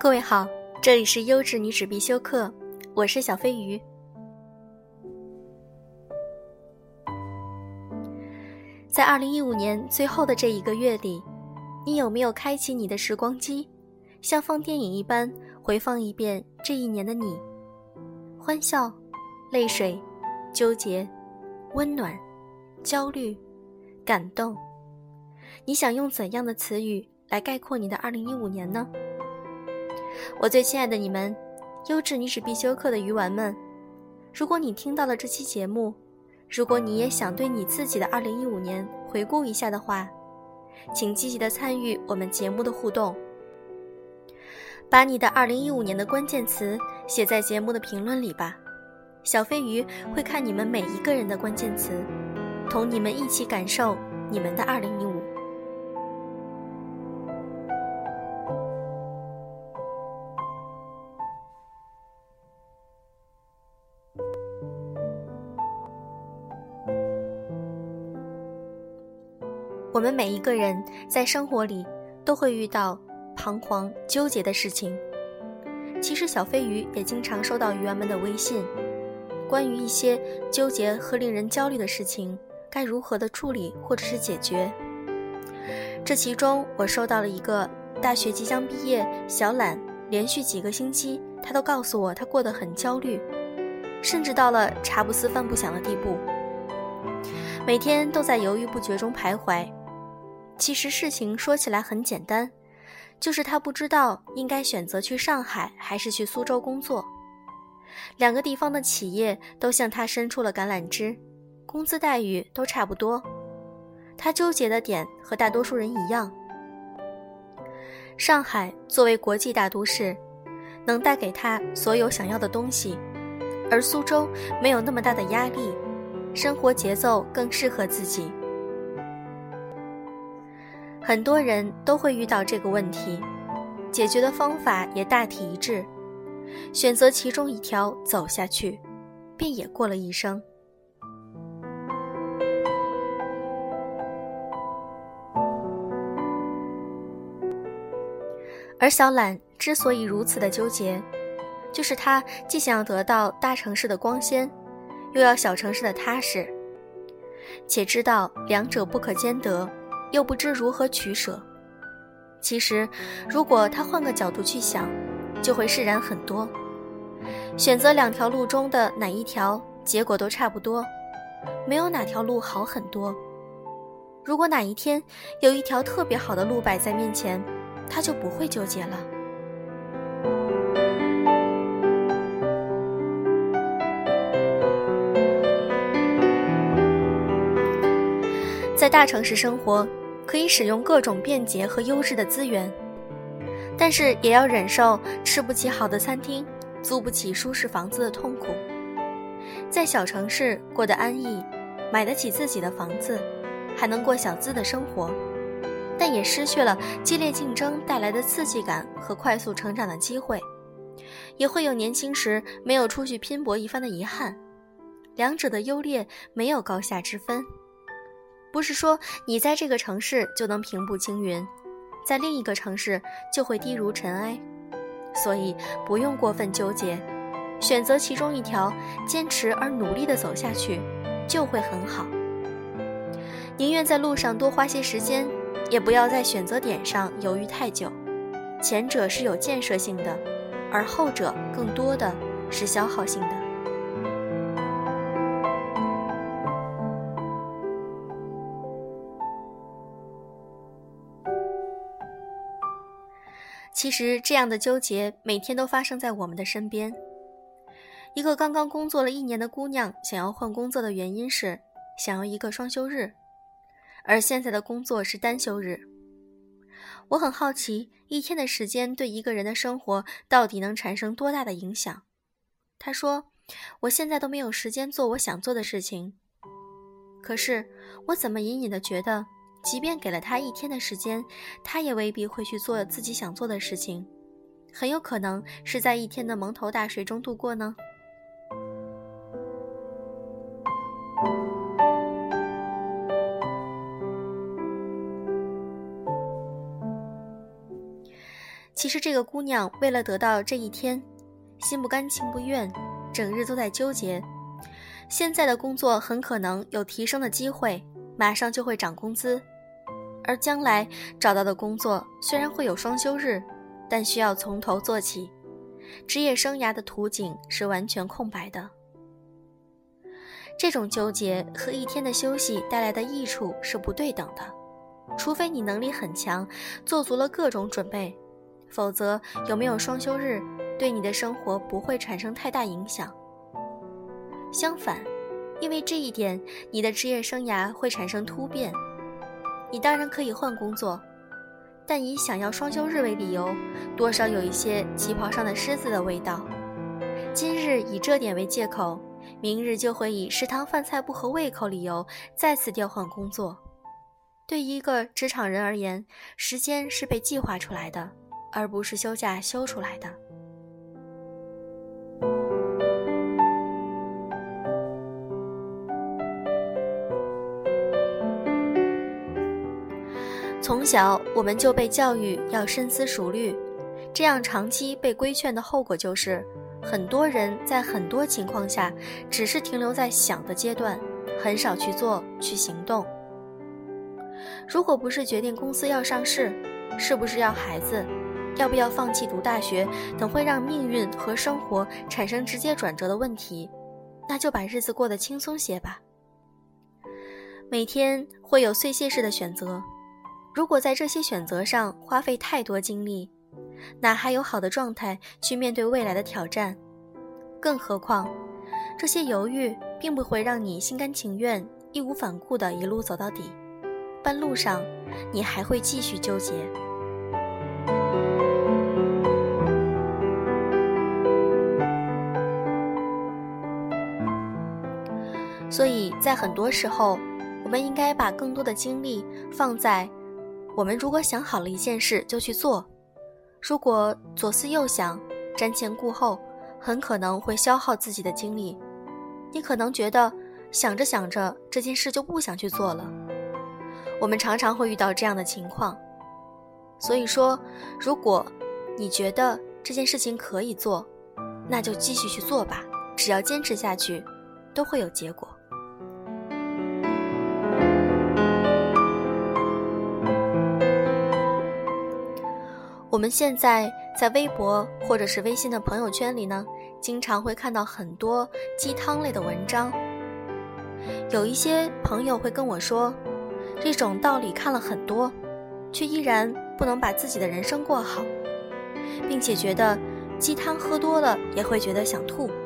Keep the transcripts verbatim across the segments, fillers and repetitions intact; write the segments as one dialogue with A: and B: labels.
A: 各位好，这里是优质女子必修课，我是小飞鱼。在二零一五年最后的这一个月里，你有没有开启你的时光机，像放电影一般回放一遍这一年的你？欢笑、泪水、纠结、温暖、焦虑、感动，你想用怎样的词语来概括你的二零一五年呢？我最亲爱的你们，优质女子必修课的鱼丸们，如果你听到了这期节目，如果你也想对你自己的二零一五年回顾一下的话，请积极的参与我们节目的互动，把你的二零一五年的关键词写在节目的评论里吧。小飞鱼会看你们每一个人的关键词，同你们一起感受你们的二零一五。我们每一个人在生活里都会遇到彷徨纠结的事情，其实小飞鱼也经常收到鱼丸们的微信，关于一些纠结和令人焦虑的事情该如何的处理或者是解决。这其中我收到了一个大学即将毕业，小懒连续几个星期他都告诉我他过得很焦虑，甚至到了茶不思饭不想的地步，每天都在犹豫不决中徘徊。其实事情说起来很简单，就是他不知道应该选择去上海还是去苏州工作。两个地方的企业都向他伸出了橄榄枝，工资待遇都差不多。他纠结的点和大多数人一样。上海作为国际大都市，能带给他所有想要的东西，而苏州没有那么大的压力，生活节奏更适合自己。很多人都会遇到这个问题，解决的方法也大体一致，选择其中一条走下去，便也过了一生。而小懒之所以如此的纠结，就是他既想要得到大城市的光鲜，又要小城市的踏实，且知道两者不可兼得，又不知如何取舍。其实如果他换个角度去想，就会释然很多。选择两条路中的哪一条，结果都差不多，没有哪条路好很多。如果哪一天有一条特别好的路摆在面前，他就不会纠结了。在大城市生活，可以使用各种便捷和优质的资源，但是也要忍受吃不起好的餐厅，租不起舒适房子的痛苦。在小城市过得安逸，买得起自己的房子，还能过小资的生活，但也失去了激烈竞争带来的刺激感和快速成长的机会，也会有年轻时没有出去拼搏一番的遗憾。两者的优劣没有高下之分，不是说你在这个城市就能平步青云，在另一个城市就会低如尘埃。所以不用过分纠结，选择其中一条，坚持而努力地走下去，就会很好。宁愿在路上多花些时间，也不要在选择点上犹豫太久。前者是有建设性的，而后者更多的是消耗性的。其实这样的纠结每天都发生在我们的身边。一个刚刚工作了一年的姑娘想要换工作的原因是想要一个双休日，而现在的工作是单休日。我很好奇，一天的时间对一个人的生活到底能产生多大的影响。她说，我现在都没有时间做我想做的事情。可是我怎么隐隐地觉得，即便给了他一天的时间，他也未必会去做自己想做的事情，很有可能是在一天的蒙头大睡中度过呢。 其实这个姑娘为了得到这一天，心不甘情不愿，整日都在纠结。现在的工作很可能有提升的机会，马上就会涨工资，而将来找到的工作虽然会有双休日，但需要从头做起，职业生涯的图景是完全空白的。这种纠结和一天的休息带来的益处是不对等的，除非你能力很强，做足了各种准备，否则有没有双休日对你的生活不会产生太大影响。相反，因为这一点，你的职业生涯会产生突变。你当然可以换工作，但以想要双休日为理由，多少有一些旗袍上的虱子的味道。今日以这点为借口，明日就会以食堂饭菜不合胃口理由再次调换工作。对一个职场人而言，时间是被计划出来的，而不是休假休出来的。从小我们就被教育要深思熟虑，这样长期被规劝的后果就是，很多人在很多情况下只是停留在想的阶段，很少去做去行动。如果不是决定公司要上市，是不是要孩子，要不要放弃读大学等会让命运和生活产生直接转折的问题，那就把日子过得轻松些吧。每天会有碎屑式的选择，如果在这些选择上花费太多精力，哪还有好的状态去面对未来的挑战？更何况，这些犹豫并不会让你心甘情愿、义无反顾地一路走到底，半路上你还会继续纠结。所以在很多时候，我们应该把更多的精力放在我们如果想好了一件事就去做，如果左思右想，瞻前顾后，很可能会消耗自己的精力。你可能觉得想着想着这件事就不想去做了，我们常常会遇到这样的情况。所以说，如果你觉得这件事情可以做，那就继续去做吧，只要坚持下去，都会有结果。我们现在在微博或者是微信的朋友圈里呢，经常会看到很多鸡汤类的文章。有一些朋友会跟我说，这种道理看了很多，却依然不能把自己的人生过好，并且觉得鸡汤喝多了也会觉得想吐。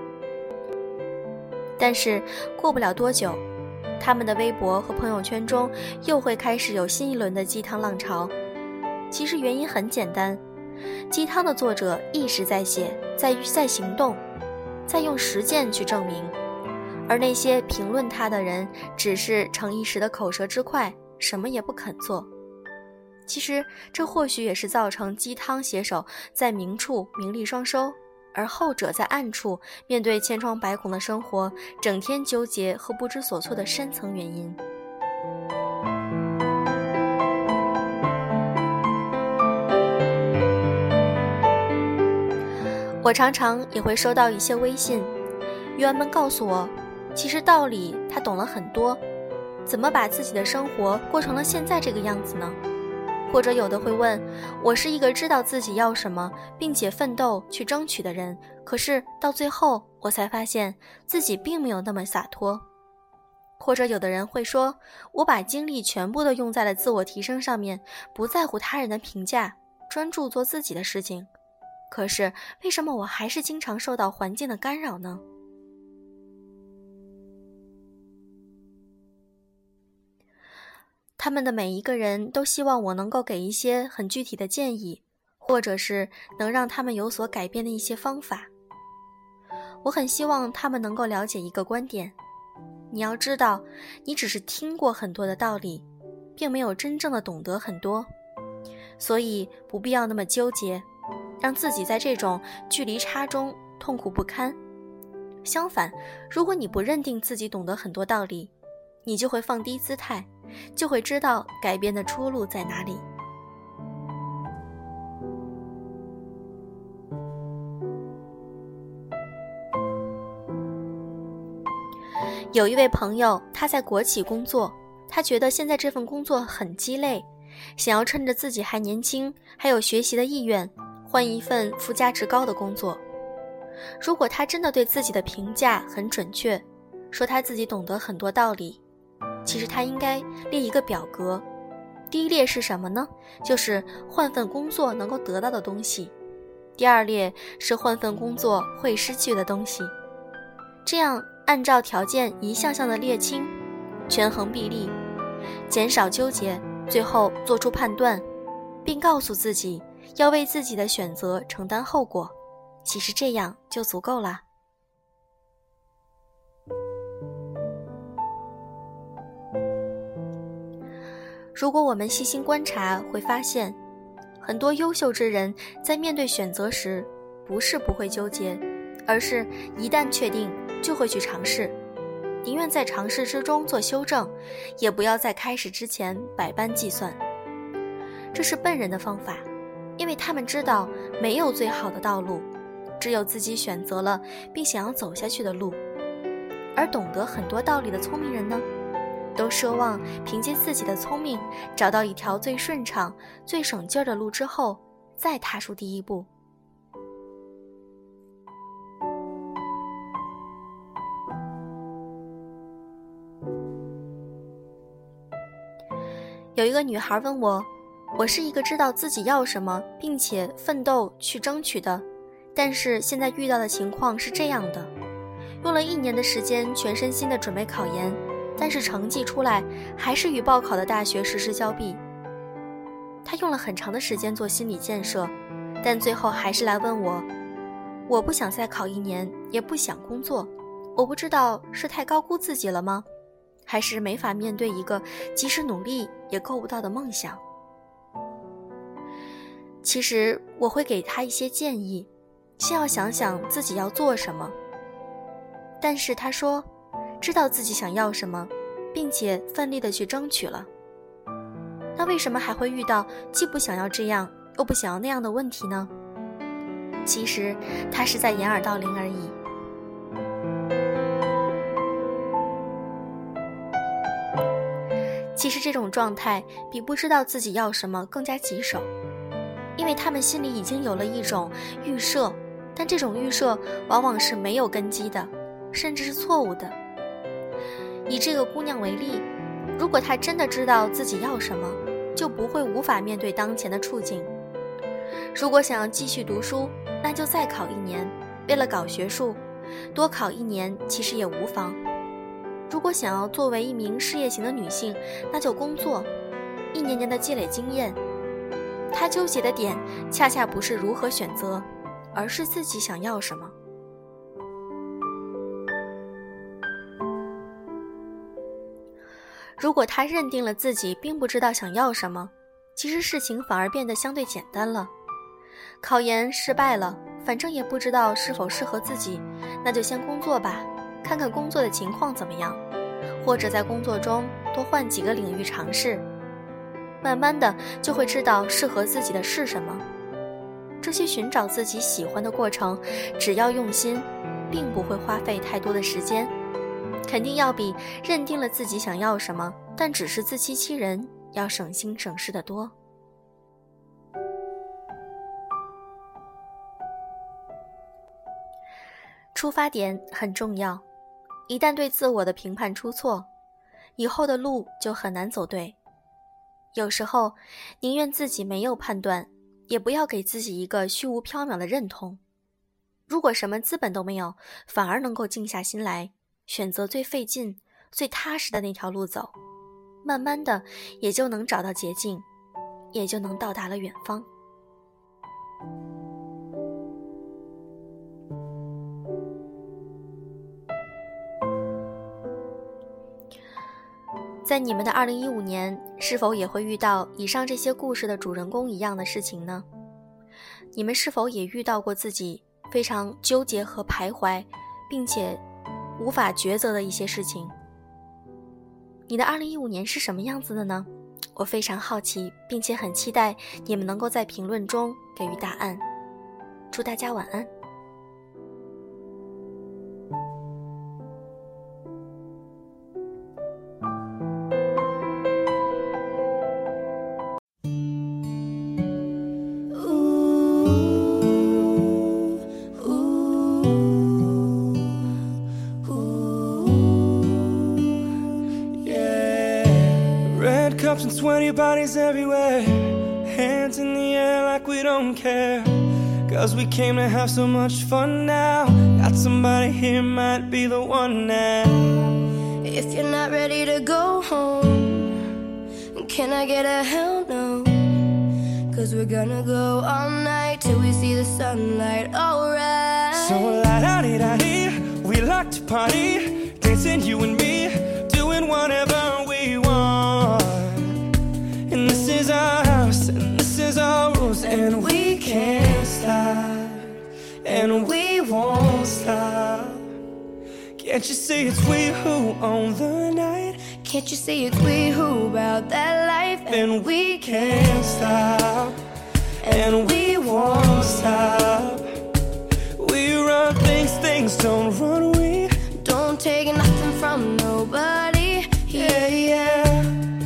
A: 但是过不了多久，他们的微博和朋友圈中又会开始有新一轮的鸡汤浪潮。其实原因很简单，鸡汤的作者一直在写，在在行动，在用实践去证明，而那些评论他的人只是逞一时的口舌之快，什么也不肯做。其实这或许也是造成鸡汤写手在明处名利双收，而后者在暗处面对千疮百孔的生活，整天纠结和不知所措的深层原因。我常常也会收到一些微信，鱼儿们告诉我，其实道理他懂了很多，怎么把自己的生活过成了现在这个样子呢？或者有的会问，我是一个知道自己要什么并且奋斗去争取的人，可是到最后我才发现自己并没有那么洒脱。或者有的人会说，我把精力全部都用在了自我提升上面，不在乎他人的评价，专注做自己的事情，可是为什么我还是经常受到环境的干扰呢？他们的每一个人都希望我能够给一些很具体的建议，或者是能让他们有所改变的一些方法。我很希望他们能够了解一个观点，你要知道，你只是听过很多的道理，并没有真正的懂得很多，所以不必要那么纠结，让自己在这种距离差中痛苦不堪。相反，如果你不认定自己懂得很多道理，你就会放低姿态，就会知道改变的出路在哪里。 有一位朋友，他在国企工作，他觉得现在这份工作很鸡肋，想要趁着自己还年轻，还有学习的意愿，换一份附加值高的工作。如果他真的对自己的评价很准确，说他自己懂得很多道理，其实他应该列一个表格。第一列是什么呢？就是换份工作能够得到的东西。第二列是换份工作会失去的东西。这样按照条件一项项的列清，权衡比例，减少纠结，最后做出判断，并告诉自己要为自己的选择承担后果。其实这样就足够了。如果我们细心观察，会发现很多优秀之人在面对选择时，不是不会纠结，而是一旦确定就会去尝试，宁愿在尝试之中做修正，也不要在开始之前百般计算。这是笨人的方法，因为他们知道没有最好的道路，只有自己选择了并想要走下去的路。而懂得很多道理的聪明人呢，都奢望凭借自己的聪明找到一条最顺畅最省劲儿的路之后，再踏出第一步。有一个女孩问我，我是一个知道自己要什么并且奋斗去争取的，但是现在遇到的情况是这样的，用了一年的时间全身心地准备考研，但是成绩出来还是与报考的大学失之交臂。他用了很长的时间做心理建设，但最后还是来问我，我不想再考一年，也不想工作，我不知道是太高估自己了吗？还是没法面对一个即使努力也够不到的梦想？其实我会给他一些建议，先要想想自己要做什么。但是他说知道自己想要什么，并且奋力地去争取了，那为什么还会遇到既不想要这样又不想要那样的问题呢？其实他是在掩耳盗铃而已。其实这种状态比不知道自己要什么更加棘手，因为他们心里已经有了一种预设，但这种预设往往是没有根基的，甚至是错误的。以这个姑娘为例，如果她真的知道自己要什么，就不会无法面对当前的处境。如果想要继续读书，那就再考一年，为了搞学术，多考一年其实也无妨。如果想要作为一名事业型的女性，那就工作，一年年的积累经验。她纠结的点恰恰不是如何选择，而是自己想要什么。如果她认定了自己并不知道想要什么，其实事情反而变得相对简单了。考研失败了，反正也不知道是否适合自己，那就先工作吧，看看工作的情况怎么样，或者在工作中多换几个领域尝试，慢慢的就会知道适合自己的是什么。这些寻找自己喜欢的过程，只要用心，并不会花费太多的时间，肯定要比认定了自己想要什么，但只是自欺欺人要省心省事得多。出发点很重要，一旦对自我的评判出错，以后的路就很难走对。有时候宁愿自己没有判断，也不要给自己一个虚无缥缈的认同。如果什么资本都没有，反而能够静下心来，选择最费劲最踏实的那条路走，慢慢的也就能找到捷径，也就能到达了远方。在你们的二零一五年，是否也会遇到以上这些故事的主人公一样的事情呢？你们是否也遇到过自己非常纠结和徘徊，并且无法抉择的一些事情？你的二零一五年是什么样子的呢？我非常好奇，并且很期待你们能够在评论中给予答案。祝大家晚安。
B: and sweaty bodies everywhere, hands in the air like we don't care. Cause we came to have so much fun now. Got somebody here, might be the one now.
C: If you're not ready to go home, can I get a hell no? Cause we're gonna go all night till we see the sunlight, alright.
B: So la-da-dee-da-dee, we like to party, dancing you and me, doing whatever we want. And this is our house, and this is our rules, and we can't stop, and we won't stop. Can't you see it's we who own the night?
C: Can't you see it's we who about that life?
B: And we can't stop, and we won't stop. We run things, things don't run. We
C: don't take nothing from nobody.
B: Yeah, yeah.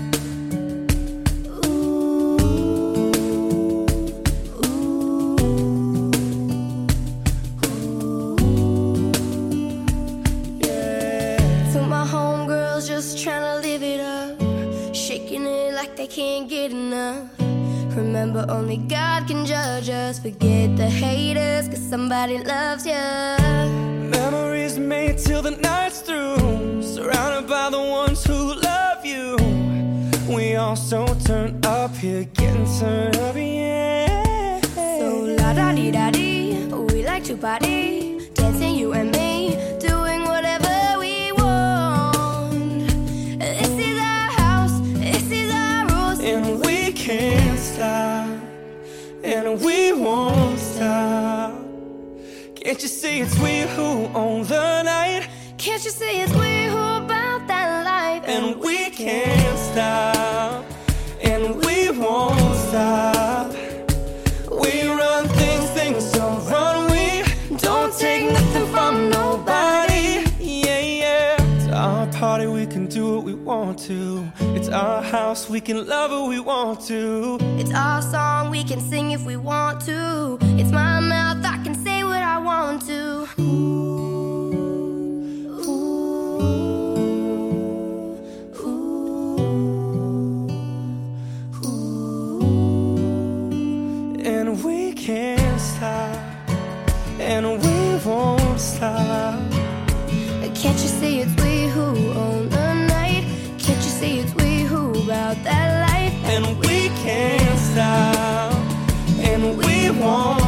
C: Ooh, ooh, ooh,
B: yeah.
C: To my homegirls just tryna live it up, shaking it like they can't get enough. Remember, only God can judge us. Forget the haters, cause somebody loves ya.
B: Memories made till the night's through, surrounded by the ones who love you. We all so turned up here, getting turned up, yeah.
C: So la-da-dee-da-dee, we like to party, dancing you and me, doing whatever we want. This is our house, this is our rules,
B: and we can't stop, and we won't stop. Can't you see it's we who own the night?
C: Can't you see it's we who about that life?
B: And we can't stop, and we won't stop. We run things, things don't run. We don't take nothing from nobody. Yeah, yeah. It's our party, we can do what we want to. It's our house, we can love who we want to.
C: It's our song, we can sing if we want to. It's my mouth, I can say what I want to. Ooh, ooh, ooh, ooh.
B: And we can't stop, and we won't stop.
C: Can't you see it's we who own the night? Can't you see it's we who about that life?
B: And we can't stop, and we won't